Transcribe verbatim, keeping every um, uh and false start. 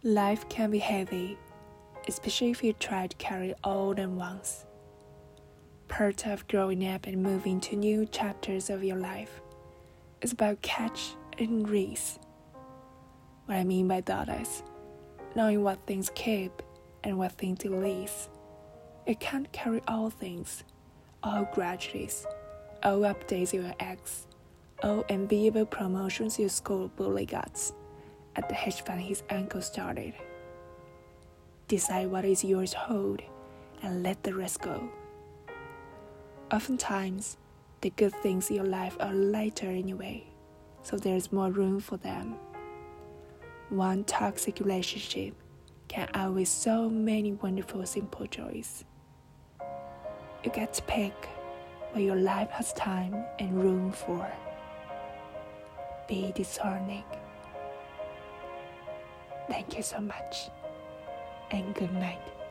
Life can be heavy, especially if you try to carry all at once. Part of growing up and moving to new chapters of your life is about catch and release. What I mean by that is knowing what things keep and what things to release. You can't carry all things, all grudges, all updates your ex, all enviable promotions your school bully got at the hedge fund his uncle started. Decide what is yours to hold and let the rest go. Oftentimes, the good things in your life are lighter anyway, so there's more room for them. One toxic relationship can outweigh so many wonderful simple joys. You get to pick what your life has time and room for. Be discerning. Thank you so much, and good night.